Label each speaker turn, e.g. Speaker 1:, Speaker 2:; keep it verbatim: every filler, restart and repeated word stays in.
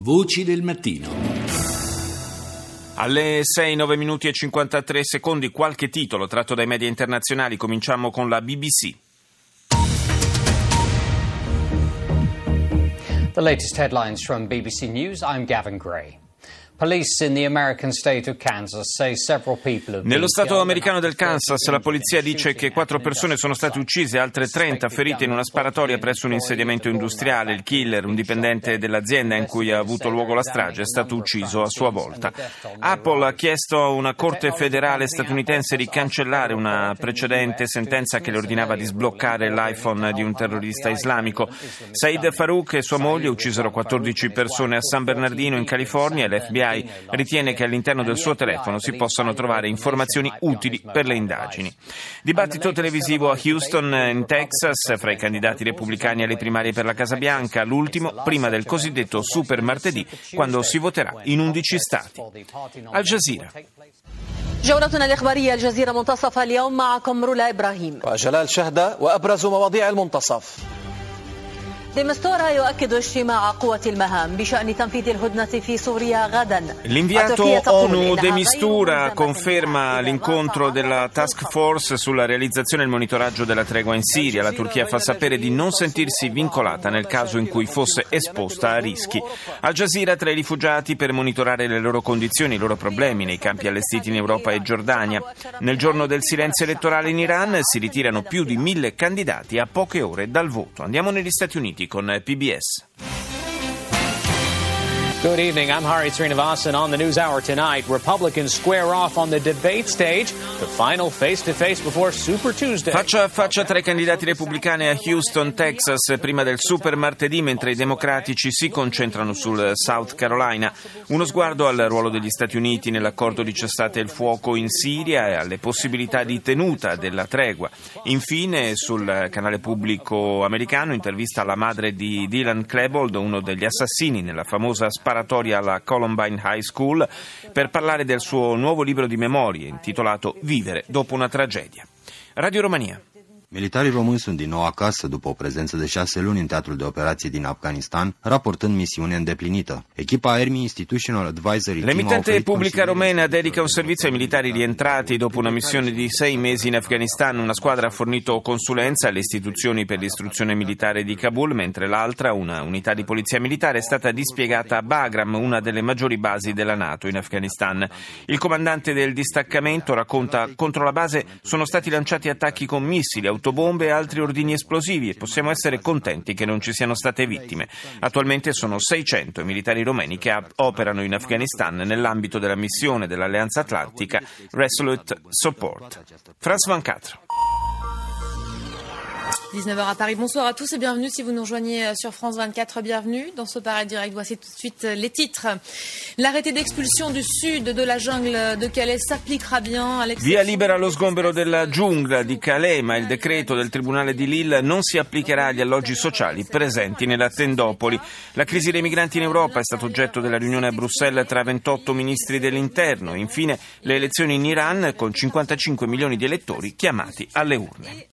Speaker 1: Voci del mattino.
Speaker 2: Alle sei, nove minuti e cinquantatré secondi, qualche titolo tratto dai media internazionali. Cominciamo con la B B C.
Speaker 3: The latest headlines from B B C News. I'm Gavin Gray. Police in the American state of Kansas say several people have been
Speaker 2: Nello stato americano del Kansas, la polizia dice che quattro persone sono state uccise e altre trenta ferite in una sparatoria presso un insediamento industriale. Il killer, un dipendente dell'azienda in cui ha avuto luogo la strage, è stato ucciso a sua volta. Apple ha chiesto a una corte federale statunitense di cancellare una precedente sentenza che le ordinava di sbloccare l'iPhone di un terrorista islamico. Said Farouk e sua moglie uccisero quattordici persone a San Bernardino in California e l'F B I ritiene che all'interno del suo telefono si possano trovare informazioni utili per le indagini. Dibattito televisivo a Houston, in Texas, fra i candidati repubblicani alle primarie per la Casa Bianca, l'ultimo prima del cosiddetto super martedì, quando si voterà in undici stati. Al Jazeera.
Speaker 4: جولتنا الإخبارية الجزيرة منتصف اليوم معكم رولا إبراهيم
Speaker 5: وجلال شهدة وأبرز مواضيع المنتصف.
Speaker 2: L'inviato ONU De Mistura conferma l'incontro della task force sulla realizzazione e il monitoraggio della tregua in Siria. La Turchia fa sapere di non sentirsi vincolata nel caso in cui fosse esposta a rischi. Al Jazeera, tra i rifugiati per monitorare le loro condizioni, i loro problemi nei campi allestiti in Europa e Giordania. Nel giorno del silenzio elettorale in Iran si ritirano più di mille candidati a poche ore dal voto. Andiamo negli Stati Uniti con P B S.
Speaker 6: Good evening, I'm Hari Srinivasan. On the News Hour tonight, Republicans square off on the debate stage, the final face-to-face before Super Tuesday.
Speaker 2: Faccia a faccia tra i candidati repubblicani a Houston, Texas, prima del Super Martedì, mentre i democratici si concentrano sul South Carolina. Uno sguardo al ruolo degli Stati Uniti nell'accordo di cessate il fuoco in Siria e alle possibilità di tenuta della tregua. Infine, sul canale pubblico americano, intervista alla madre di Dylan Klebold, uno degli assassini nella famosa sparatoria alla Columbine High School, per parlare del suo nuovo libro di memorie intitolato Vivere dopo una tragedia. Radio Romania.
Speaker 7: Militarii români sunt din nou acasă după o prezență de șase luni în teatrul de operații din Afganistan, raportând misiune îndeplinită. Echipa Army Institutional Advisory
Speaker 2: L'emittente pubblica romena dedica un servizio ai militari rientrati dopo una missione di sei mesi in Afghanistan. Una squadra ha fornito consulenza alle istituzioni per l'istruzione militare di Kabul, mentre l'altra, una unità di polizia militare, è stata dispiegata a Bagram, una delle maggiori basi della NATO in Afghanistan. Il comandante del distaccamento racconta: contro la base sono stati lanciati attacchi con missili, autobombe e altri ordini esplosivi e possiamo essere contenti che non ci siano state vittime. Attualmente sono seicento i militari romeni che operano in Afghanistan nell'ambito della missione dell'Alleanza Atlantica Resolute Support. France ventiquattro.
Speaker 8: dix-neuf heures à Paris. Bonsoir à tous et bienvenue si vous nous rejoignez sur France vingt-quatre. Bienvenue dans ce Paris Direct. Voici tout de suite les titres. L'arrêté d'expulsion du sud de la jungle de Calais s'appliquera bien à l'exception...
Speaker 2: Via libera allo sgombero della giungla di Calais, ma il decreto del Tribunale di Lille non si applicherà agli alloggi sociali presenti nella tendopoli. La crisi dei migranti in Europa è stato oggetto della riunione a Bruxelles tra ventotto ministri dell'interno. Infine, le elezioni in Iran con cinquantacinque milioni di elettori chiamati alle urne.